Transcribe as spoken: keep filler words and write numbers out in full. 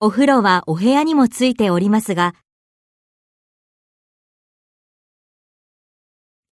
お風呂はお部屋にもついておりますが、